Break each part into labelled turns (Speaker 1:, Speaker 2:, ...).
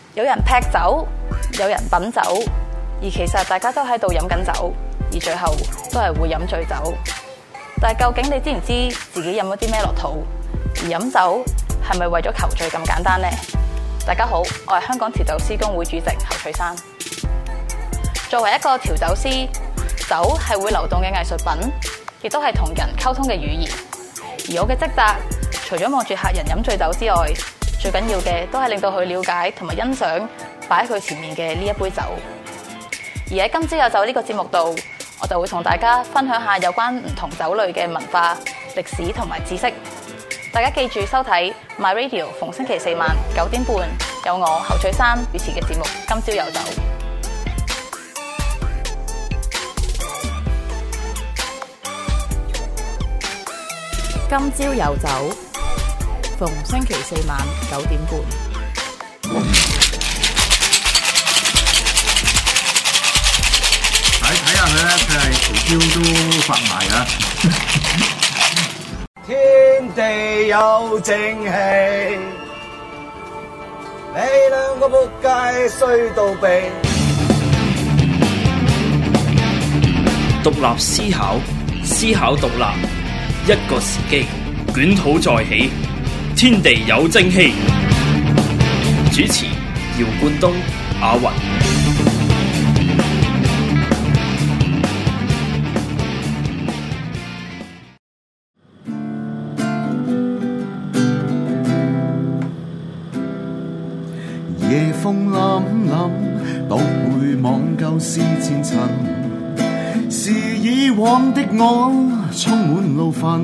Speaker 1: 有人劈酒，有人品酒，而其實大家都喺度飲緊酒，而最後都係會飲醉酒。但係究竟你知唔知自己飲咗啲咩落肚？而飲酒係咪為咗求醉咁簡單呢？大家好，我係香港調酒師公會主席侯翠珊。作為一個調酒師，酒係會流動嘅藝術品，亦都係同人溝通嘅語言。而我嘅職責，除咗望住客人飲醉酒之外，最緊要嘅都係令到佢了解同埋欣賞擺喺佢前面嘅呢一杯酒。而喺今朝有酒呢個節目度，我就會同大家分享下有關唔同酒類嘅文化、歷史同埋知識。大家記住收睇 My Radio， 逢星期四晚9點半有我侯翠珊主持嘅節目《今朝有酒》。今朝有酒，逢星期四晚9點半。
Speaker 2: 睇下佢咧，佢係條腰都發埋啊！
Speaker 3: 天地有正氣，你兩個仆街衰到痹。
Speaker 4: 獨立思考，思考獨立，一個時機，捲土再起，天地有正氣。主持：姚冠東、阿雲。
Speaker 5: 夜風凜凜，獨回望舊事前塵，是以往的我充滿怒憤，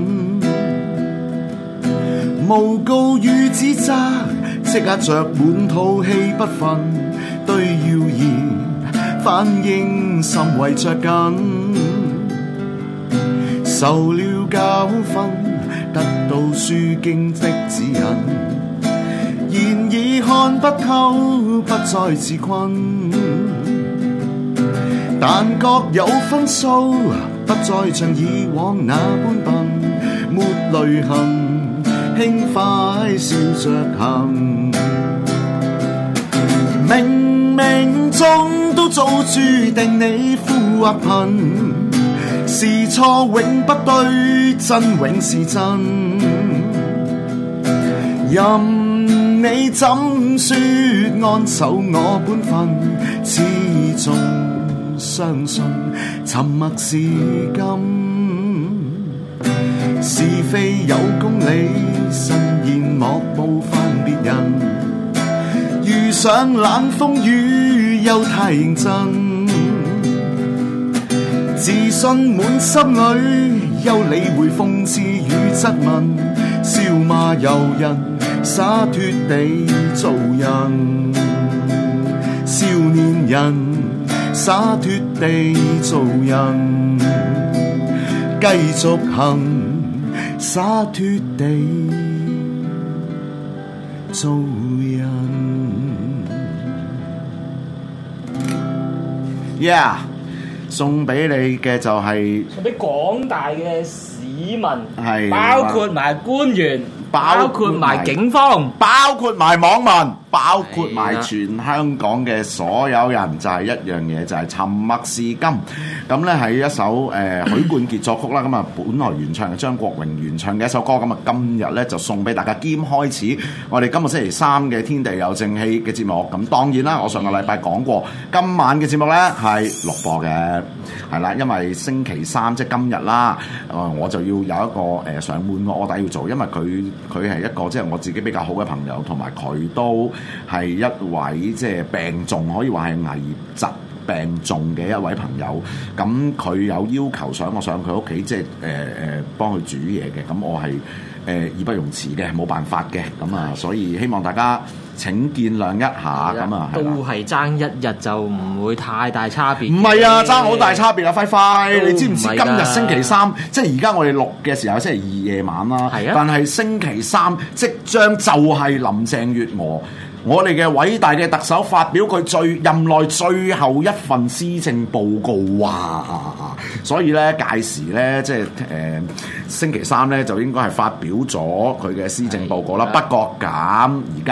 Speaker 5: 誣告與指責，積壓着滿肚氣不憤，對謠言反應甚為着緊，受了教訓，得到書經的指引，然而看不透，不再自困，但各有分數，不再像以往那般笨，沒淚痕，輕快笑着行。冥冥中都早注定你富或貧，是錯永不對，真永是真。任你怎說，安守我本分，始終相信沉默是金。是非有公理，慎言莫冒犯別人。遇上冷風雨，又太認真，自信滿心裏，休理會諷刺與質問，笑罵由人，灑脫地做人，少年人灑脫地做人，繼續行，灑脫地做人。Yeah， 送俾你嘅就係
Speaker 6: 送俾廣大嘅市民，
Speaker 5: 係
Speaker 6: 包括埋官員，包括埋警方，
Speaker 5: 包括埋網民，包括埋全香港嘅所有人，就係一樣嘢，就係沉默是金。咁咧係一首許冠傑作曲啦，咁啊本來原唱係張國榮原唱嘅一首歌，咁啊今日咧就送俾大家，兼開始我哋今個星期三嘅天地有正氣嘅節目。咁當然啦，我上個禮拜講過，今晚嘅節目咧係錄播嘅，係啦，因為星期三即係今日啦，我就要有一個上門嘅臥底要做，因為佢係一個即係我自己比較好嘅朋友，同埋佢都係一位即係病重，可以話係危疾病重嘅一位朋友。咁佢有要求想我上佢屋企，即係幫佢煮嘢嘅。咁我係義不容辭嘅，冇辦法嘅。咁啊，所以希望大家請見諒一下。咁啊，
Speaker 6: 都係爭一日就唔會太大差別。
Speaker 5: 唔係啊，爭好大差別啊！輝輝，你知唔知
Speaker 6: 今
Speaker 5: 今日星期三，即係而家我哋錄嘅時候星期二夜晚啦。
Speaker 6: 係啊，
Speaker 5: 但係星期三即將就係林鄭月娥，我哋嘅偉大嘅特首發表佢任內最後一份施政報告哇！所以咧屆時咧即係星期三咧就應該係發表咗佢嘅施政報告啦。不過咁而家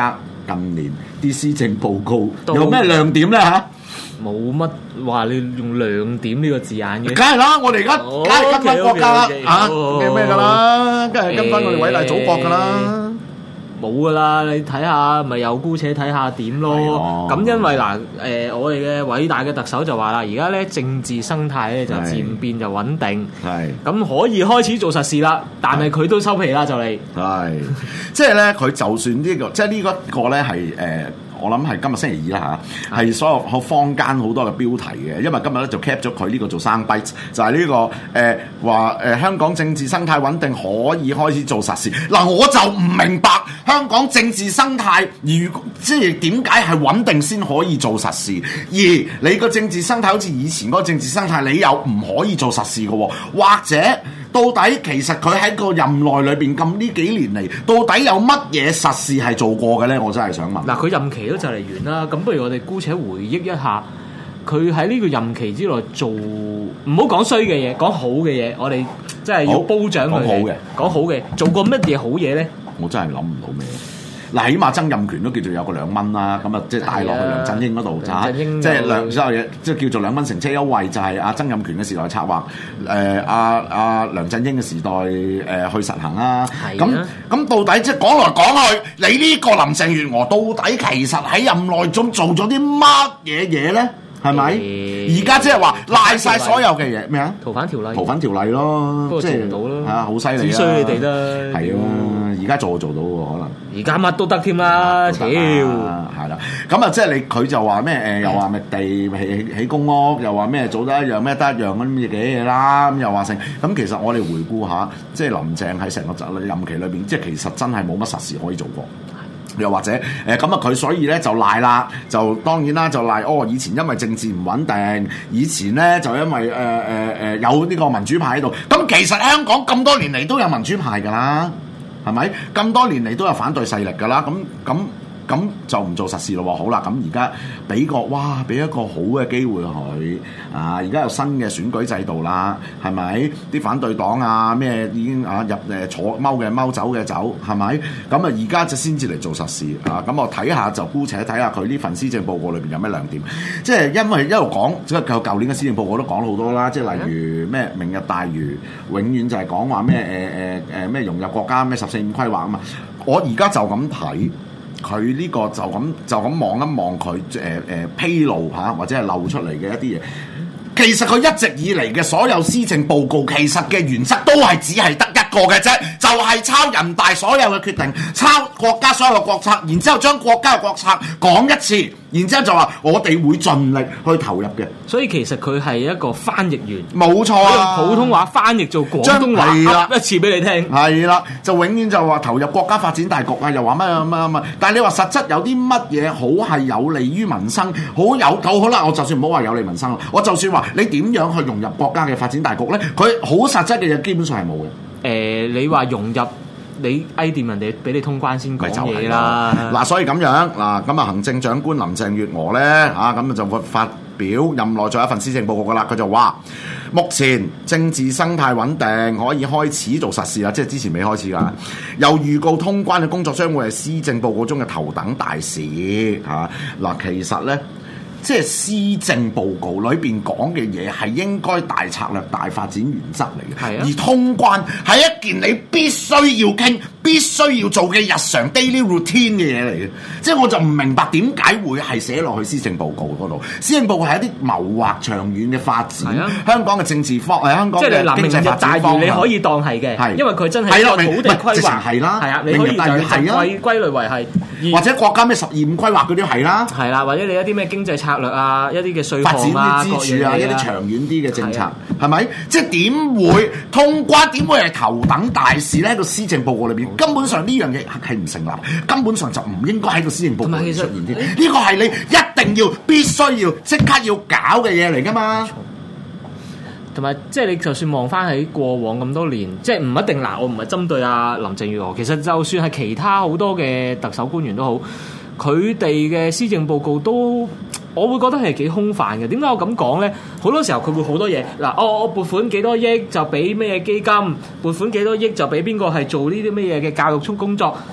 Speaker 5: 近年啲施政報告有咩亮點咧嚇？
Speaker 6: 冇乜話你用亮點呢個字眼嘅，
Speaker 5: 梗係啦，我哋而家梗係跟翻國家啊嘅咩㗎啦，梗係跟翻我哋偉大祖國㗎啦。
Speaker 6: 冇㗎啦，你睇下咪又姑且睇下點咯。咁因為嗱我哋嘅偉大嘅特首就話啦，而家咧政治生態咧就漸變就穩定，咁可以開始做實事啦。但係佢都收皮啦，就嚟
Speaker 5: 係即係咧，佢就算呢個即係呢一個咧係我諗係今日星期二啦嚇，係所有坊間好多嘅標題嘅，因為今日咧就 cap 咗佢呢個做生 bite，就係呢個話香港政治生態穩定可以開始做實事。嗱，我就唔明白香港政治生態即係點解係穩定先可以做實事，而你個政治生態好似以前嗰個政治生態，你又唔可以做實事嘅喎，或者？到底其實佢喺個任內裏邊咁呢幾年嚟，到底有乜嘢實事係做過嘅咧？我真係想問。
Speaker 6: 嗱，佢任期都就嚟完啦，咁不如我哋姑且回憶一下，佢喺呢個任期之內做，唔好講衰嘅嘢，講好嘅嘢，我哋真係要褒獎佢。講好嘅，做過乜嘢好嘢咧？
Speaker 5: 我真係諗唔到咩。嗱，起碼曾蔭權都叫做有個2蚊啦，咁啊即係帶落去梁振英嗰度嚇，即係所有嘢即係叫做2蚊乘車優惠，就係阿曾蔭權嘅時代策劃，阿梁振英嘅時代去實行啦。咁到底即係講來講去，你呢個林鄭月娥到底其實喺任內中做咗啲乜嘢嘢咧？係咪？而家即係話賴晒所有嘅嘢咩啊？逃犯條例咯，
Speaker 6: 不過做唔到咯，
Speaker 5: 嚇好犀利啊！
Speaker 6: 只需你哋啦，
Speaker 5: 係啊！而家做到喎，可能
Speaker 6: 而家乜都得添啦，屌係
Speaker 5: 啦！咁啊，即係佢就話咩又話咩地起公屋，又話咩做得一樣咩得一樣咁嘅嘢啦，咁又話成咁。其實我哋回顧下，即係林鄭喺成個任期裏邊，即係其實真係冇乜實事可以做過。又或者咁啊，佢所以咧就賴啦，就當然啦，就賴以前因為政治唔穩定，以前咧就因為有呢個民主派喺度。咁其實香港咁多年嚟都有民主派㗎啦，係咪？咁多年嚟都有反對勢力㗎啦，咁就唔做實事咯喎。好啦，咁而家俾一個好嘅機會佢啊！而家有新嘅選舉制度啦，係咪？啲反對黨啊咩已經入坐踎嘅踎走嘅走，係咪？咁啊而家就先至嚟做實事啊！咁我睇下就姑且睇下佢呢份施政報告裏邊有咩亮點。即係因為一路講，即係舊年嘅施政報告都講咗好多啦。即係例如咩明日大嶼，永遠就係講話咩咩融入國家咩14.5規劃啊嘛。我而家就咁睇。佢呢個就咁望一望佢披露嚇或者係漏出嚟嘅一啲嘢，其實佢一直以嚟嘅所有施政報告，其實嘅原則都係只係得一個嘅啫，就係抄人大所有嘅決定，抄國家所有嘅國策，然之後將國家嘅國策講一次，然之後就話我哋會盡力去投入嘅。
Speaker 6: 所以其實佢係一個翻譯員，
Speaker 5: 冇錯啊！
Speaker 6: 用普通話翻譯做廣東話，噏一次俾你聽。係
Speaker 5: 啦，就永遠就話投入國家發展大局啊，又話乜，但係你話實質有啲乜嘢好係有利於民生，好啦，我就算唔好話有利民生，我就算話你點樣去融入國家嘅發展大局咧，佢好實質嘅嘢基本上係冇嘅。你話融入你掂人哋俾你通關先講嘢啦。嗱，所以咁樣嗱，咁啊行政長官林鄭月娥咧咁就會發表任內最後一份施政報告噶啦。佢就話目前政治生態穩定，可以開始做實事啦，即係之前未開始噶。又預告通關嘅工作將會係施政報告中嘅頭等大事嗱，其實咧。即係施政報告裏邊講嘅嘢係應該大策略、大發展原則嚟嘅，而通關係一件你必須要傾、必須要做嘅日常 daily routine 嘅嘢嚟嘅。即係我就唔明白點解會係寫落去施政報告嗰度。施政報告係一啲謀劃長遠嘅發展，香港嘅政治方，香港嘅經濟發展方向，你可以當係嘅，因為佢真係一個土地規劃係啦，你可以就歸類為係，或者國家咩12.5規劃嗰啲係啦，係啦，或者你一啲咩經濟策略啊，一啲嘅稅項啊，發展啲支柱啊，一啲長遠啲嘅政策，係咪？即係點會通關？點會係頭等大事咧？喺個施政報告裏邊，根本上呢樣嘢係唔成立，根本上就唔應該喺個施政報告裏出現添。呢個係你一定要、必須要、即刻要搞嘅嘢嚟㗎嘛。同埋即係你就算望翻喺過往咁多年，即係唔一定嗱，我唔係針對阿林鄭月娥，其實就算係其他好多嘅特首官員都好，佢哋嘅施政報告都，我會覺得係幾空泛嘅。點解我咁講咧？好多時候佢會好多嘢嗱，我撥款幾多億就俾咩基金，撥款幾多億就俾邊個係做呢啲咩嘢嘅教育工作。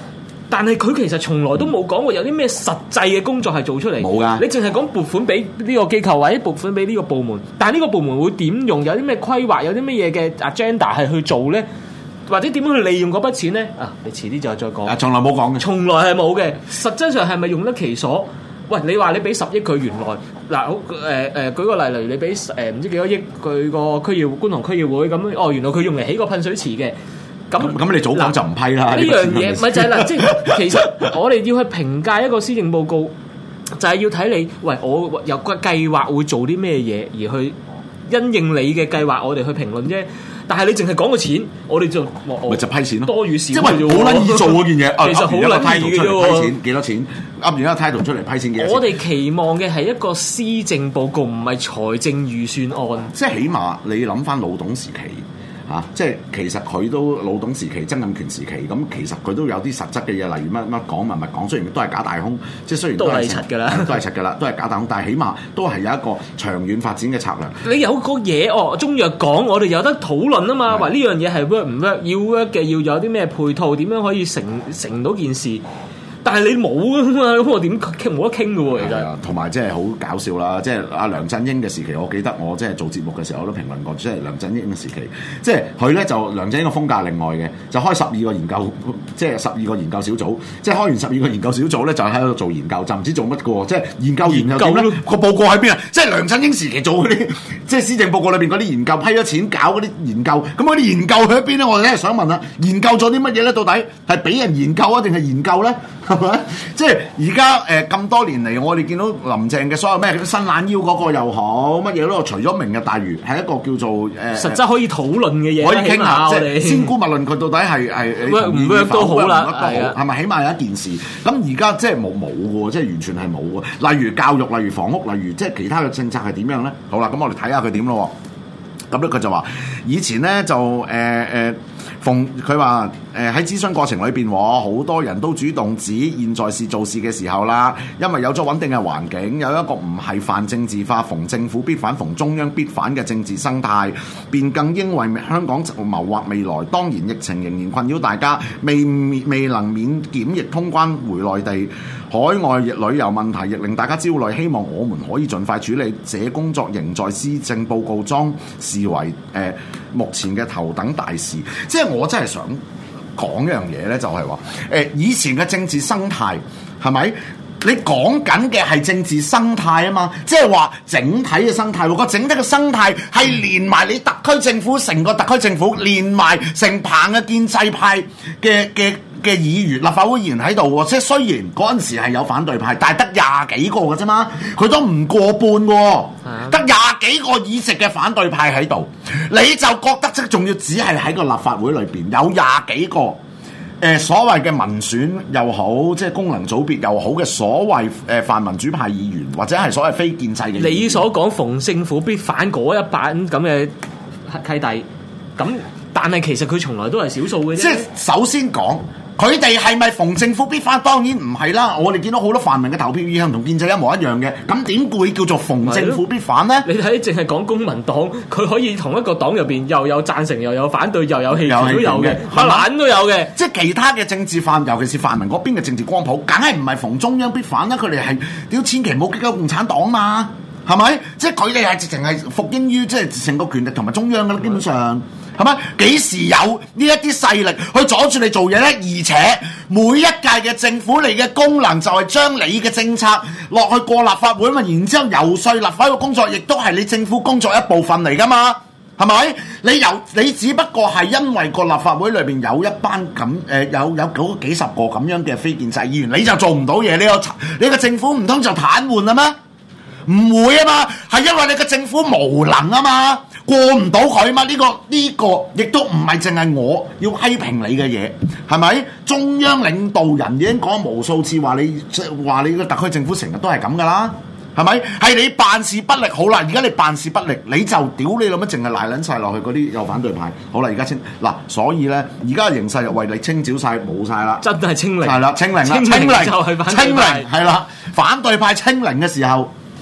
Speaker 6: 但係佢其實從來都冇講過有啲咩實際嘅工作係做出嚟。
Speaker 5: 冇㗎，
Speaker 6: 你淨係講撥款俾呢個機構或者撥款俾呢個部門，但係呢個部門會點用？有啲咩規劃？有啲咩嘢嘅 agenda 係去做咧？或者點樣去利用嗰筆錢咧？啊，你遲啲就再講。
Speaker 5: 從來冇講嘅，從
Speaker 6: 來係冇嘅。實質上係咪用得其所？喂，你話你俾10億佢，原來嗱好舉個例，例如你俾唔知幾多億佢個觀塘區議會咁，哦，原來佢用嚟起個噴水池嘅。
Speaker 5: 咁你早講就唔批啦。
Speaker 6: 呢樣嘢咪就係啦，即係其實我哋要去評價一個施政報告，就係要睇你，喂，我有個計劃會做啲咩嘢，而去因應你嘅計劃，我哋去評論啫。但係你淨係講個錢，我哋就
Speaker 5: 咪就批錢咯，
Speaker 6: 多與少，
Speaker 5: 即係好撚易做嗰件嘢。
Speaker 6: 其實好撚易嘅啫喎，
Speaker 5: 批錢幾多錢？噏完一個態度出嚟批錢幾多錢？
Speaker 6: 我哋期望嘅係一個施政報告，唔係財政預算案。
Speaker 5: 即係起碼你諗翻老董時期。即係其實佢都老董時期、曾蔭權時期，咁其實佢都有啲實質嘅嘢，例如乜講乜講，雖然都係假大空，即係雖然都係
Speaker 6: 柒㗎啦，
Speaker 5: 都係柒㗎啦，都係假大空，但係起碼都係有一個長遠發展嘅策略。
Speaker 6: 你有個嘢中藥講，我哋有得討論啊嘛，話呢樣嘢係 work 唔 work，要 work 嘅要有啲咩配套，點樣可以成到件事。但係你冇啊嘛，咁我點傾冇得傾嘅喎，其實。
Speaker 5: 同埋即係好搞笑啦，即係阿梁振英嘅時期，我記得我即係做節目嘅時候，我都評論過，即係梁振英嘅時期，即係佢咧就梁振英嘅風格另外嘅，就開12個研究，即係12個研究小組，即係開完12個研究小組咧，就喺度做研究，就唔知做乜嘅喎，即係研究點咧？個報告喺邊啊？即係梁振英時期做嗰啲，即係施政報告裏邊嗰啲研究，批咗錢搞嗰啲研究，咁嗰啲研究去咗邊咧？我哋咧想問啦，研究咗啲乜嘢咧？到底係俾人研究啊，定係研究咧？係咪？即係而家咁多年嚟，我哋見到林鄭嘅所有咩伸懶腰嗰個又好，乜嘢都除咗明日大嶼係一個叫做
Speaker 6: 實質可以討論嘅嘢，
Speaker 5: 可以傾下。即係先姑勿論佢到底係
Speaker 6: 唔 work 都好啦，
Speaker 5: 係咪？起碼有一件事。咁而家即係冇喎，即係完全係冇喎。例如教育，例如房屋，例如即係其他嘅政策係點樣咧？好啦，咁我哋睇下佢點咯。咁咧佢就話以前咧就佢話喺諮詢過程裏邊，好多人都主動指現在是做事嘅時候啦，因為有咗穩定嘅環境，有一個唔係泛政治化、逢政府必反、逢中央必反嘅政治生態，便更應為香港謀劃未來。當然疫情仍然困擾大家，未能免檢疫通關回內地，海外旅遊問題亦令大家焦慮，希望我們可以盡快處理。這工作仍在施政報告中視為目前嘅頭等大事。即係我真係想講一樣嘢咧，就係話以前嘅政治生態係咪？你講緊嘅係政治生態啊嘛，即係話整體嘅生態。個整體嘅生態係連埋你特區政府，成個特區政府連埋成棚嘅建制派嘅議員、立法會議員喺度喎。即係雖然嗰陣時係有反對派，但係得20幾個嘅啫嘛，佢都唔過半喎，得20幾個議席嘅反對派喺度，你就覺得即係仲要只係喺個立法會裏邊有20幾個。所謂嘅民選又好，即係功能組別又好嘅所謂泛民主派議員，或者係所謂非建制嘅議員，
Speaker 6: 你所講逢政府必反嗰一版咁嘅契弟，咁但係其實佢從來都係少數嘅啫。
Speaker 5: 即係首先講，佢哋係咪逢政府必反？當然唔係啦。我哋見到好多泛民嘅投票意向同建制一模一樣嘅，咁點會叫做逢政府必反呢？
Speaker 6: 你睇淨係講公民黨，佢可以同一個黨入邊又有贊成又有反對又有棄權都有嘅，乜撚都有嘅。
Speaker 5: 即係其他嘅政治泛，尤其是泛民嗰邊嘅政治光譜，梗係唔係逢中央必反啦？佢哋係屌千祈唔好激鳩共產黨嘛，係咪？即係佢哋係直情係服膺於即係成個權力同埋中央㗎啦，基本上。係咪？幾時有呢一啲勢力去阻住你做嘢呢？而且每一屆嘅政府，你嘅功能就係將你嘅政策落去過立法會嘛，然之後游說立法會嘅工作，亦都係你政府工作一部分嚟㗎嘛，係咪？你只不過係因為個立法會裏邊有一班咁有幾十個咁樣嘅非建制議員，你就做唔到嘢，你個政府唔通就癱瘓啦咩？唔會啊嘛，係因為你個政府無能啊嘛。過唔到佢嘛？呢個亦都唔係淨係我要批評你嘅嘢，係咪？中央領導人已經講無數次話你個特區政府成日都係咁噶啦，係咪？係你辦事不力，好啦，而家你辦事不力，你就屌你老乜，淨係賴撚晒落去嗰啲有反對派，好啦，而家嗱，所以咧，而家形勢就為你清剿晒，冇晒啦，
Speaker 6: 真係清零，
Speaker 5: 係啦，清零啦，
Speaker 6: 清零就係反對派，
Speaker 5: 係啦，反對派清零嘅時候。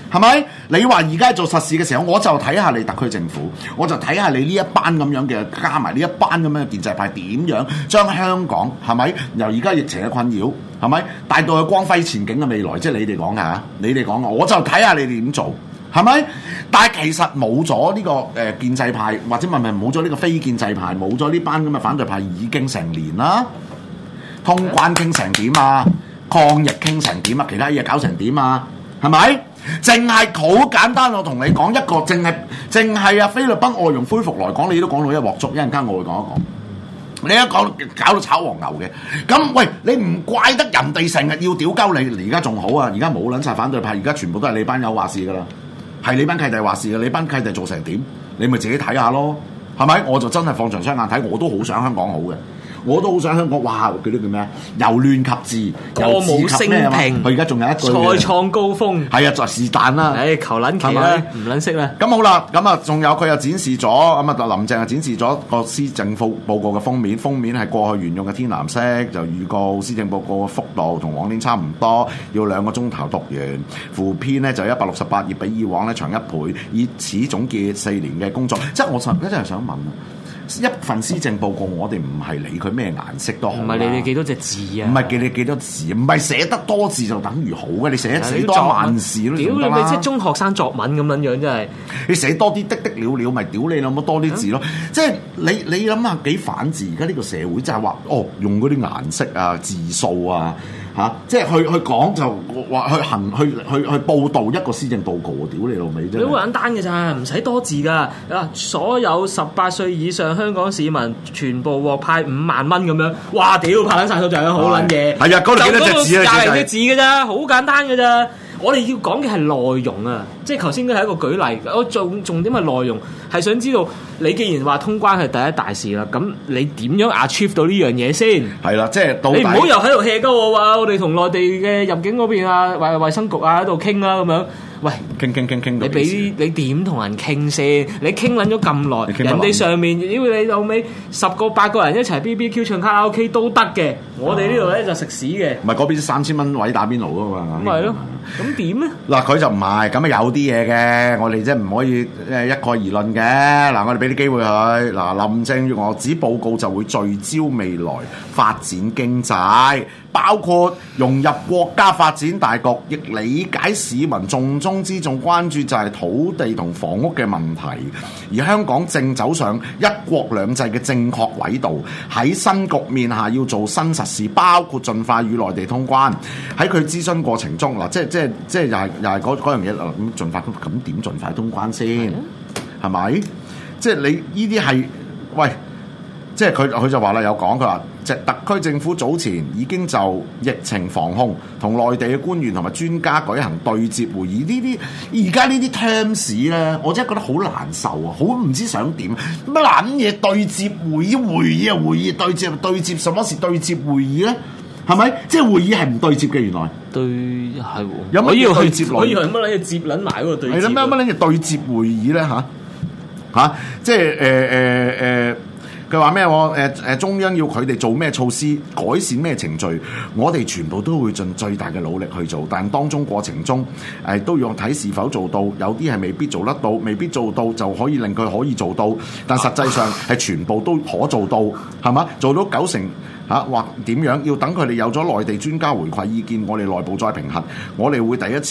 Speaker 5: 係咪？你話而家做實事嘅時候，我就睇下你特區政府，我就睇下你呢一班咁樣嘅加埋呢一班咁樣嘅建制派點樣將香港係咪由而家疫情嘅困擾係咪帶到去光輝前景嘅未來？即係你哋講㗎，你哋講㗎，我就睇下你哋點做。係咪？但係其實冇咗呢個建制派，或者冇咗呢個非建制派，冇咗呢班咁嘅反對派已經成年啦。通關傾成點啊？抗疫傾成點啊？其他嘢搞成點啊？係咪？淨係好簡單，我同你講一個，淨係菲律賓外傭恢復來講，你都講到一鑊粥。一陣間我會講一講。你一講搞到炒黃牛嘅，咁喂，你唔怪得人哋成日要屌鳩你，而家仲好啊！而家冇撚晒反對派，而家全部都係你班友話事㗎啦。係你班契弟話事嘅，你班契弟做成點？你咪自己睇下咯，係咪？我就真係放長雙眼睇，我都好想香港好嘅，我都好想香港。哇！佢啲叫咩啊？由亂及治，
Speaker 6: 歌舞升平。
Speaker 5: 佢而家仲有一句
Speaker 6: 再創高峰。
Speaker 5: 係啊，就是但啦。
Speaker 6: 求撚其啦，唔撚識啦。
Speaker 5: 咁好啦，咁啊，仲有佢又展示咗，咁啊，林鄭又展示咗個施政報告嘅封面係過去沿用嘅天藍色，就預告施政報告嘅幅度同往年差唔多，要2個鐘頭讀完。附篇呢就168頁，比以往咧長1倍，以此總結4年嘅工作。即係我真係想問一份施政報告，我哋唔係理佢咩顏色都好，唔係
Speaker 6: 理你幾多隻字啊，
Speaker 5: 唔係記你幾多字，唔係寫得多字就等於好嘅，你寫多萬字都
Speaker 6: 屌你咪即係中學生作文咁樣樣，真係你
Speaker 5: 寫多啲的了了，咪屌你諗乜多啲字咯？即係你諗下幾反智？而家呢個社會就係話用嗰啲顏色啊、字數啊。即係去講就話去報導一個施政報告喎，屌你老味啫！
Speaker 6: 你好簡單嘅咋，唔使多字㗎。所有18歲以上香港市民全部獲派5萬蚊咁樣，哇！屌拍撚晒手掌，好撚嘢。係啊，嗰度幾多隻字啊？廿零隻字㗎咋，好簡單㗎咋。我哋要講嘅係內容啊，即係頭先都係一個舉例。我重點係內容，係想知道你既然話通關係第一大事啦，咁你點樣 achieve 到呢樣嘢先？係啦，即係你唔好又喺度 hea 鳩我話，我哋同內地嘅入境嗰邊啊，或衛生局啊喺度傾啦咁樣。喂，傾，你點同人傾先？你傾撚咗咁耐，人哋上面屌你老味10個8個人一齊 BBQ 唱卡拉 OK 都得嘅，我哋呢度咧就食屎嘅。唔係嗰邊3000蚊位打邊爐㗎嘛？咁係咯，咁點咧？嗱，佢就唔係咁啊，有啲嘢嘅，我哋即係唔可以一概而論嘅。嗱，我哋俾啲機會佢。嗱，林鄭月娥指報告就會聚焦未來發展經濟，包括融入國家發展大局，亦理解市民重中之重關注就係土地同房屋嘅問題，而香港正走上一國兩制嘅正確軌道，喺新局面下要做新實事，包括盡快與內地通關。喺佢諮詢過程中，嗱，即係又係嗰樣嘢，咁盡快咁點盡快通關先？係咪？即係你呢啲係喂？即係佢就話啦，有講佢話，即係特區政府早前已經就疫情防控同內地嘅官員同埋專家舉行對接會議。呢啲而家呢啲 terms 咧，我真係覺得好難受啊，好唔知想點乜撚嘢對接會議對接，什麼是對接會議咧？係咪？即係會議係唔對接嘅，原來對係喎。有乜嘢對接來？我以為乜撚嘢接撚埋嗰個對接？係啦，乜撚嘢對接會議咧？即係佢話咩？中央要佢哋做咩措施，改善咩程序，我哋全部都會盡最大嘅努力去做。但當中過程中，都要睇是否做到。有啲係未必做得到，未必做到就可以令佢可以做到。但實際上係全部都可做到，係嘛？做到90%或點樣？要等佢哋有咗內地專家回饋意見，我哋內部再評核。我哋會第一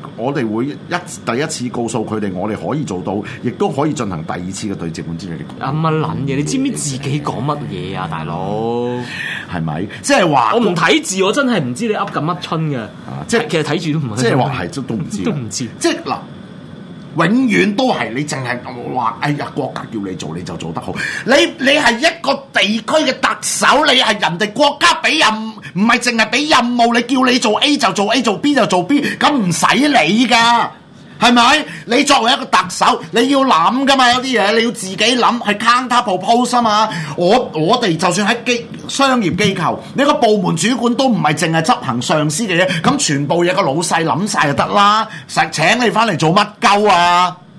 Speaker 6: 次告訴佢哋，我哋可以做到，亦都可以進行第二次嘅對接本之類嘅。乜撚嘢？你知唔知自己講乜嘢啊，大佬？係咪？即係話我唔睇字，我真係唔知你噏緊乜春嘅。即係其實睇住都唔係。即係話係都唔知。都唔知。即係嗱，永遠都係你淨係話，哎呀，國家叫你做你就做得好。你係一個地區嘅特首，你係人哋國家俾任務。唔係淨係俾任務，你叫你做 A 就做 A， 做 B 就做 B， 咁唔使理㗎，係咪？你作為一個特首，你要諗㗎嘛，有啲嘢你要自己諗，係 counter propose 啊嘛。我哋就算喺商業機構，你個部門主管都唔係淨係執行上司嘅嘢，咁全部嘢個老細諗晒就得啦，實請你翻嚟做乜鳩啊？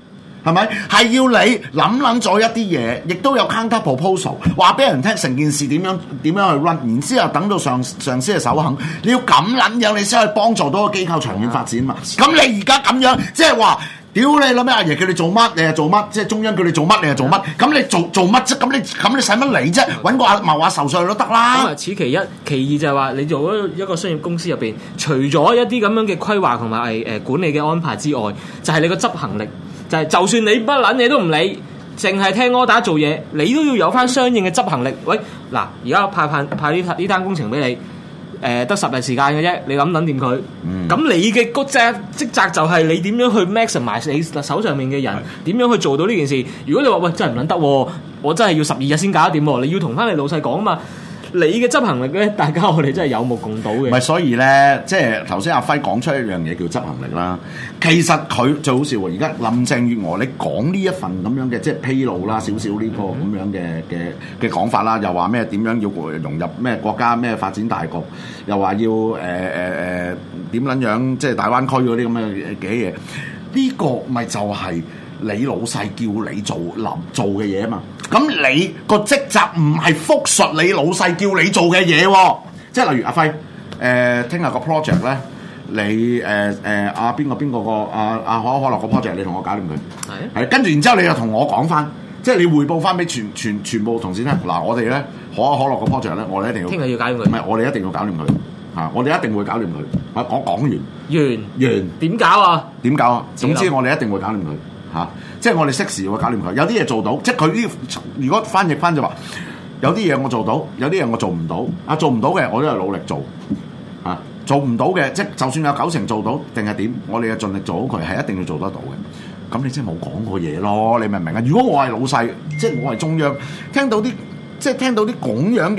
Speaker 5: 係咪？係要你諗咗一啲嘢，亦都有 counter proposal， 話俾人聽成件事點樣去 run， 然之後等到上司嘅首肯，你要咁撚樣，你先可以幫助到個機構長遠發展嘛。咁你而家咁樣，即係話。屌你諗咩？阿爺叫你做乜，你係做乜？即係中央叫你做乜，你係做乜？咁你做乜啫？咁你使乜嚟啫？揾個阿茂阿壽上去都得啦。
Speaker 6: 咁啊，此其一，其二就係話你做咗一個商業公司入邊，除咗一啲咁樣嘅規劃同埋管理嘅安排之外，就係你個執行力，就係就算你乜撚嘢都唔理，淨係聽order做嘢，你都要有翻相應嘅執行力。喂，嗱，而家派呢單工程俾你。得10日時間嘅啫，你諗掂佢。咁你嘅職責就係你點樣去 maximize你手上面嘅人，點樣去做到呢件事？如果你話喂真係唔撚得，我真係要12日先搞得掂，你要同翻你老細講啊嘛。你嘅執行力咧，大家我哋真係有目共睹嘅。
Speaker 5: 唔係，所以咧，即係頭先阿輝講出一樣嘢叫執行力啦。其實佢最好笑喎，而家林鄭月娥你講呢一份咁樣嘅即係披露啦，少少呢個咁樣嘅講法啦，又話咩點樣要融入咩國家咩發展大局，又話要點撚樣即係大灣區嗰啲咁嘅嘢，呢個咪就係你老細叫你做嘅嘢啊嘛。咁你個職責唔係複述你老細叫你做嘅嘢喎，即係例如阿輝聽日個 project 咧，你阿邊個個阿可樂個 project 你同我搞掂佢，係跟住然之後你又同我講翻，即係你匯報翻俾全部同事聽。嗱，我哋咧可樂個 project 咧，我哋一定要聽日要搞掂佢，唔係我哋一定要搞掂佢嚇，我哋一定會搞掂佢。我講完點搞啊？點搞啊？總之我哋一定會搞掂佢。即係我哋適時會搞掂佢，有啲嘢做到，即係佢呢？如果翻譯翻就話，有啲嘢我做到，有啲嘢我做唔到。做唔到嘅我都係努力做，做唔到嘅，即係就算有90%做到定係點，我哋嘅盡力做好佢，係一定要做得到嘅。咁你真係冇講過嘢咯，你明唔明啊？如果我係老細，即係我係中央，聽到啲咁樣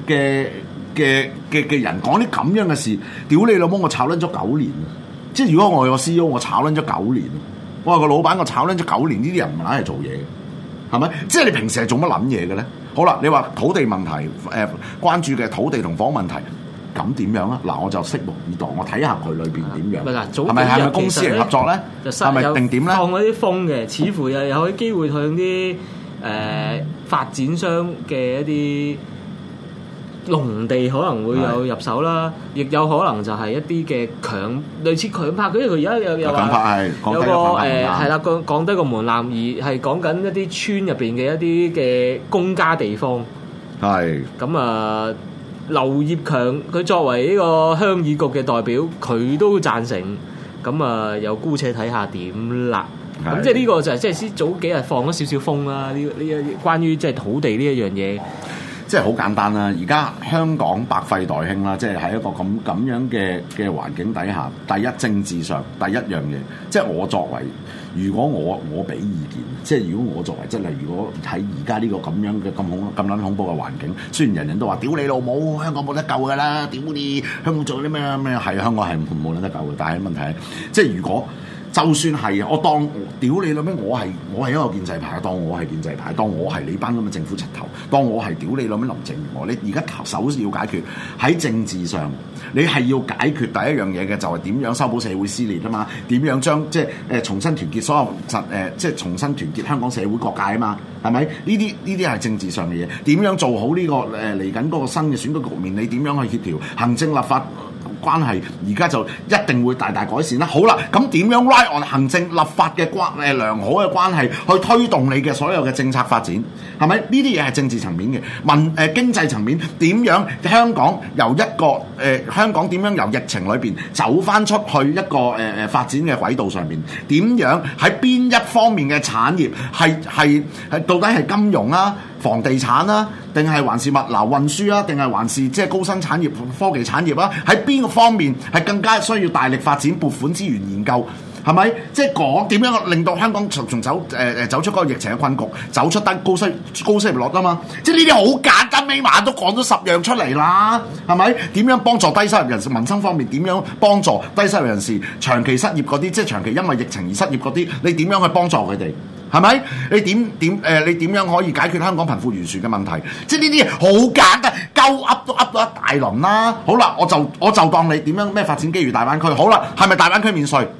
Speaker 5: 嘅人講啲咁樣嘅事，屌你老母！我炒撚咗9年，即係如果我係個 CEO，我炒撚咗9年。我話個老闆，我炒撚咗9年，呢啲人唔係嚟做嘢嘅，係咪？即係你平時係做乜撚嘢嘅咧？好啦，你話土地問題，關注嘅土地同房問題，咁點樣啊？嗱，我就拭目以待，我睇下佢裏邊點樣，係咪公私營合作咧？係咪定點咧？
Speaker 6: 放嗰啲風嘅，似乎又有機會向啲發展商嘅一啲農地可能會有入手啦，亦有可能就係一啲嘅類似強拍，因為佢而家有話有個係啦，降低個門檻，而係講緊一啲村入邊嘅一啲嘅公家地方。係咁啊，劉業強佢作為呢個鄉議局嘅代表，佢都贊成。咁啊，又姑且睇下點啦。咁即係呢個就係即係先早幾日放咗少少風啦。呢關於即係土地呢一樣嘢。
Speaker 5: 即係好簡單啦！而家香港百廢待興啦，即係喺一個咁樣嘅環境底下，第一政治上第一樣嘢，即係我作為，如果我俾意見，即係如果我作為，即係如果喺而家呢個咁樣嘅咁撚恐怖嘅環境，雖然人人都話屌你老母，香港冇得救㗎啦，屌你香港做啲咩係香港係冇得救嘅，但係問題係即係如果。就算係我當屌你啦咩，我係一個建制派，當我係建制派，當我係你班咁嘅政府柒頭，當我係屌你啦咩林鄭月娥，你而家首要解決喺政治上，你係要解決第一樣嘢嘅就係點樣修補社會撕裂啊嘛，點樣將即係重新團結所有即係重新團結香港社會各界啊嘛，係咪？呢啲係政治上嘅嘢，點樣做好呢個嚟緊嗰個新嘅選舉局面？你點樣去協調行政立法關係？而家就一定會大大改善啦。好啦，咁點樣 ride on 行政立法嘅良好嘅關係去推動你嘅所有嘅政策發展？係咪？呢啲嘢係政治層面嘅，經濟層面點樣？香港由一個香港點樣由疫情裏邊走翻出去一個發展嘅軌道上面？點樣喺邊一方面嘅產業係到底係金融啊、房地產啊，定係還是物流運輸啊，定係還是即係高新產業、科技產業啊？喺邊個方面係更加需要大力發展、撥款資源研究？係咪？即係講點樣令到香港從走出嗰個疫情嘅困局，走出高失業率啊嘛！即係呢啲好簡單，尾碼都講咗10樣出嚟啦，係咪？點樣幫助低收入人士？民生方面點樣幫助低收入人士？長期失業嗰啲，即係長期因為疫情而失業嗰啲，你點樣去幫助佢哋？係咪？你點樣可以解決香港貧富懸殊嘅問題？即係呢啲嘢好簡單，鳩噏都噏到一大輪啦。好啦，我就當你點樣咩發展機遇大灣區？好啦，係咪大灣區免稅？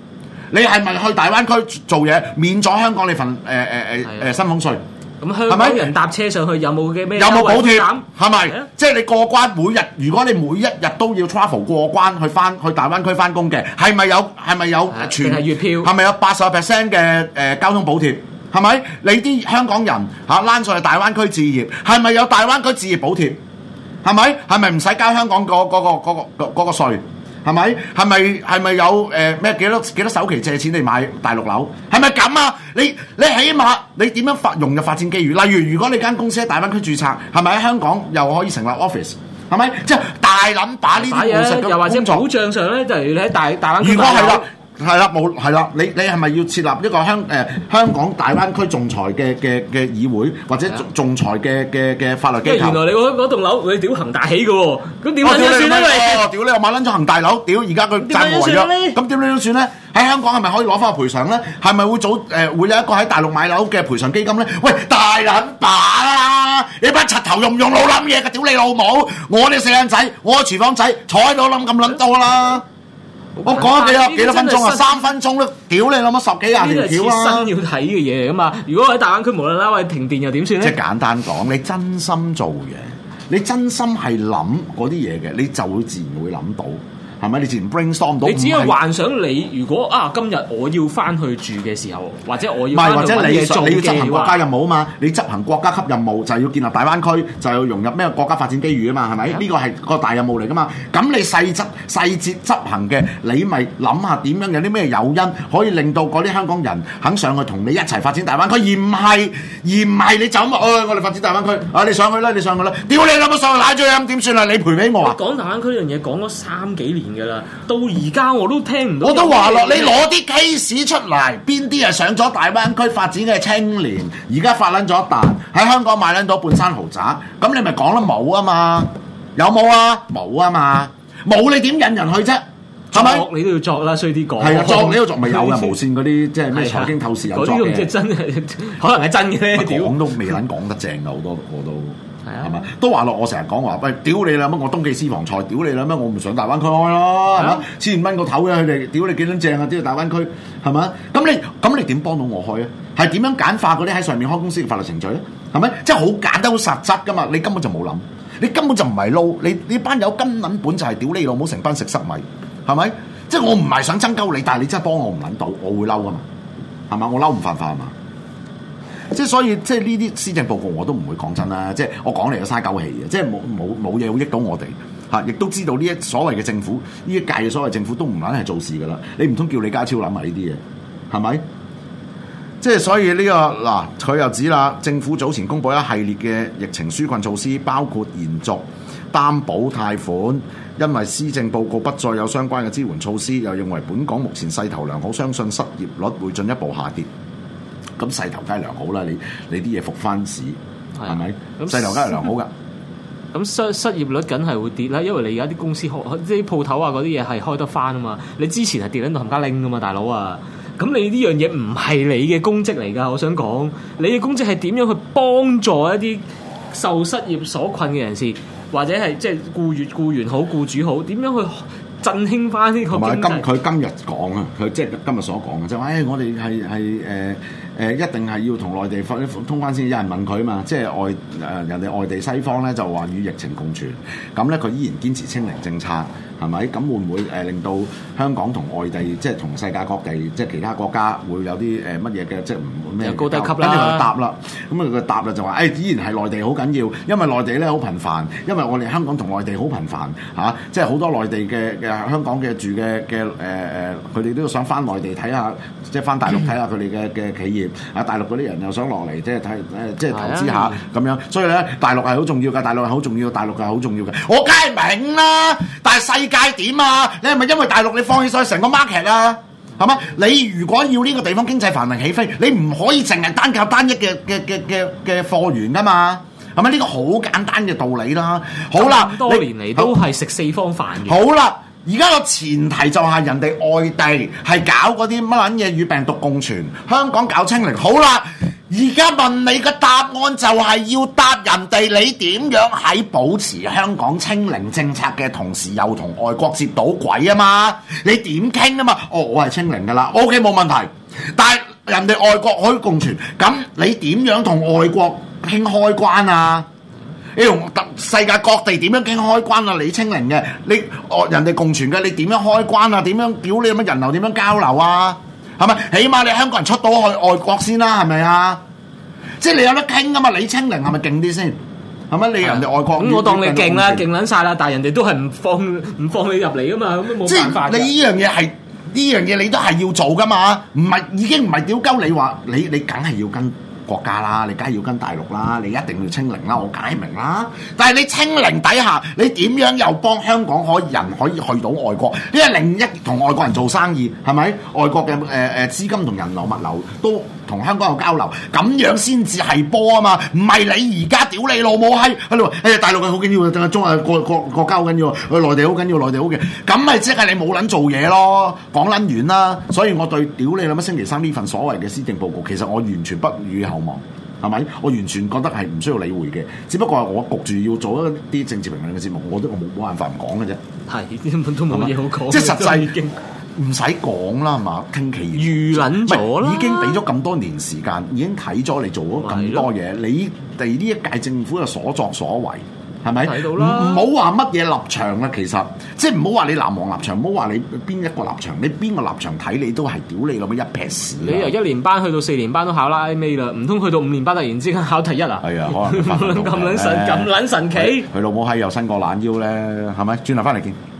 Speaker 5: 你係咪去大灣區做嘢免咗香港你份薪俸稅？
Speaker 6: 咁香港人搭車上去有冇嘅咩？
Speaker 5: 有冇補貼？係咪？
Speaker 6: 啊、
Speaker 5: 即係你過關每日，如果你每一日都要 travel 過關去大灣區翻工嘅，係咪有全
Speaker 6: 係月票？
Speaker 5: 係咪有80% 嘅交通補貼？係咪？你啲香港人躝上去大灣區置業，係咪有大灣區置業補貼？係咪？係咪唔使交香港嗰個稅？係咪？係咪有咩幾多首期借錢嚟買大陸樓？係咪咁啊？你起碼你點樣融入發展機遇？例如果你間公司喺大灣區註冊，係咪喺香港又可以成立 office？係咪？即係大撚把呢啲務實嘅工作，
Speaker 6: 又或者保障上咧，就係你喺大灣區。
Speaker 5: 如果係啦，你係咪要設立一個香港大灣區仲裁嘅議會，或者仲裁嘅法律機構？
Speaker 6: 原來你嗰棟樓你屌恒大起嘅喎，咁點樣算咧？
Speaker 5: 屌你又買撚咗恒大樓，屌而家佢債務違約，咁點樣算咧？喺香港係咪可以攞翻個賠償咧？係咪會有一個喺大陸買樓嘅賠償基金咧？喂，大撚把啦！你班柒頭用唔用腦諗嘢嘅？屌你老母！我哋四眼仔，我廚房仔坐喺度諗咁撚多啦！我講咗幾多分鐘啊？3分鐘都屌你諗咗10幾廿條橋啊！
Speaker 6: 新要睇嘅嘢嚟噶嘛？如果喺大灣區無啦啦喂停電又點算咧？
Speaker 5: 即係簡單講，你真心做嘢，你真心係諗嗰啲嘢嘅，你就會自然會諗到。係咪？你自然 brainstorm 到。
Speaker 6: 你只係幻想你如果今日我要翻去住嘅時候，或者我要翻去揾嘢做嘅話，
Speaker 5: 你要執行國家任務啊嘛！你執行國家級任務就係要建立大灣區，就係要融入咩國家發展機遇啊嘛？係咪？呢個係個大任務嚟噶嘛？咁你細節執行嘅，你咪諗下點樣有啲咩誘因可以令到嗰啲香港人肯上去同你一齊發展大灣區，而唔係你就咁我哋發展大灣區你上去啦，屌你諗乜上去奶嘴咁點算啊？你賠俾我啊！
Speaker 6: 講大灣區呢樣嘢講咗3幾年。啦，到而家我都聽唔到。
Speaker 5: 我都話咯，你攞啲 case 出嚟，邊啲係上咗大灣區發展嘅青年，而家發撚咗一啖喺香港買撚到半山豪宅，咁你咪講得冇啊嘛？有冇啊？冇啊嘛？冇你點引人去啫？係咪？
Speaker 6: 你都要作啦，衰啲講。
Speaker 5: 係啊，作你都作咪有嘅無線嗰啲，即係咩財經透視有作嘅。嗰啲
Speaker 6: 即係真係，可能係真嘅咧。
Speaker 5: 講都未撚講得正嘅，好多我都。係嘛？都話落我成日講話，喂，屌你啦乜？我東記私房菜，屌你啦乜？我唔上大灣區開咯，係嘛？1000蚊個頭嘅佢哋，屌你幾撚正啊！屌大灣區係嘛？咁你點幫到我開啊？係點樣簡化嗰啲喺上面開公司嘅法律程序咧？係咪？即係好簡單好實質噶嘛？你根本就冇諗，你根本就唔係撈，你班友根撚本就係屌你老母成班食塞米，係咪？即係我唔係想爭鳩你，但係你真係幫我唔撚到，我會嬲啊嘛，係嘛？我嬲唔犯法啊嘛？即係所以，即係呢啲施政報告我都唔會講真啦。即係我講嚟就嘥鳩氣嘅，即係冇嘢會益到我哋嚇，亦都知道呢一所謂嘅政府，呢一屆嘅所謂政府都唔撚係做事噶啦。你唔通叫李家超諗埋呢啲嘢係咪？即係所以呢個嗱，佢又指啦，政府早前公布一系列嘅疫情紓困措施，包括延續擔保貸款，因為施政報告不再有相關嘅支援措施，又認為本港目前勢頭良好，相信失業率會進一步下跌。咁勢頭梗係良好啦，你啲嘢復翻市係咪？勢頭梗係良好㗎。
Speaker 6: 咁失業率梗係會跌啦，因為你而家啲公司啲鋪頭啊嗰啲嘢係開得翻啊嘛。你之前係跌緊到冚家拎㗎嘛，大佬啊！咁你呢樣嘢唔係你嘅公職嚟㗎，我想講，你嘅公職係點樣去幫助一啲受失業所困嘅人士，或者係即係僱員好、僱主好，點樣去振興翻呢個經濟？
Speaker 5: 佢今日講啊，佢即係今日所講嘅就話，我哋係一定係要同內地通關先。有人問佢啊嘛，即係人哋外地西方咧就話與疫情共存，咁咧佢依然堅持清零政策，係咪？咁會唔會令到香港同外地即係同世界各地即係其他國家會有啲乜嘢嘅即係唔咩
Speaker 6: 高低級啦？
Speaker 5: 跟住佢答啦，咁佢答啦就話依然係內地好緊要，因為內地咧好頻繁，因為我哋香港同內地好頻繁嚇，即係好多內地嘅香港嘅住嘅佢哋都想翻內地睇下，即係翻大陸睇下佢哋嘅企業。大陸嗰啲人又想落嚟，即係即係投資下咁樣，所以咧大陸係好重要㗎，大陸係好重要，大陸係好重要嘅。我梗係明啦，但係世界點啊？你係咪因為大陸你放棄晒成個 market 啊？係嘛？你如果要呢個地方經濟繁榮起飛，你唔可以淨係單靠單一嘅貨源㗎嘛？係咪呢個好簡單嘅道理啦？好啦，
Speaker 6: 多年嚟都係食四方飯嘅。
Speaker 5: 好啦。而家個前提就係人哋外地係搞嗰啲乜撚嘢與病毒共存，香港搞清零。好啦， 而家問你嘅答案就係要答人哋你點樣喺保持香港清零政策嘅同時，又同外國接到軌啊嘛？你點傾啊嘛？我係清零㗎啦 ，OK 冇問題。但係人哋外國可以共存，咁你點樣同外國傾開關啊？你同世界各地點樣傾開關啊？你清零嘅，你人哋共存嘅，你點樣開關啊？點樣屌你乜人流點樣交流啊？係咪？起碼你香港人出到去外國先啦，係咪啊？即係你有得傾噶嘛？你清零係咪勁啲先？係咪？你人哋外國
Speaker 6: 咁我當你勁啦，勁撚晒啦，但係人哋都係唔放你入嚟噶嘛，咁都冇辦法。
Speaker 5: 即係你呢樣嘢係呢樣嘢，你都係要做噶嘛？已經唔係屌鳩你話你梗係要跟國家啦，你梗係要跟大陸啦，你一定要清零啦，我梗係明啦。但係你清零底下，你點樣又幫香港人可以去到外國？呢係另一同外國人做生意，係咪？外國嘅資金同人流物流都同香港有交流，咁樣先至係波啊嘛！唔係你而家屌你老母閪喺度，大陸嘅好緊要，定係中國家好緊要，內地好緊要，內地好嘅，咁咪即係你冇撚做嘢咯，講撚完啦。所以我對屌你諗乜星期三呢份所謂嘅施政報告，其實我完全不予厚望，係咪？我完全覺得係唔需要理會嘅，只不過係我焗住要做一啲政治評論嘅節目，我冇辦法唔講嘅啫。
Speaker 6: 係根本都冇嘢好講，
Speaker 5: 即係實際已經。唔使講啦，係嘛？傾其
Speaker 6: 預撚咗啦，
Speaker 5: 已經俾咗咁多年時間，已經睇咗你做咗咁多嘢，你哋呢一屆政府嘅所作所為，係咪？睇到啦，唔好話乜嘢立場啦，其實即係唔好話你藍黃立場，唔好話你邊一個立場，你邊個立場睇你都係屌你老母一撇屎。你由1年班去到4年班都考啦 A 啦，唔通去到5年班突然之間考第一啊？係啊，可能咁撚神奇，佢老母閪又伸個懶腰咧，係咪？轉頭翻嚟見。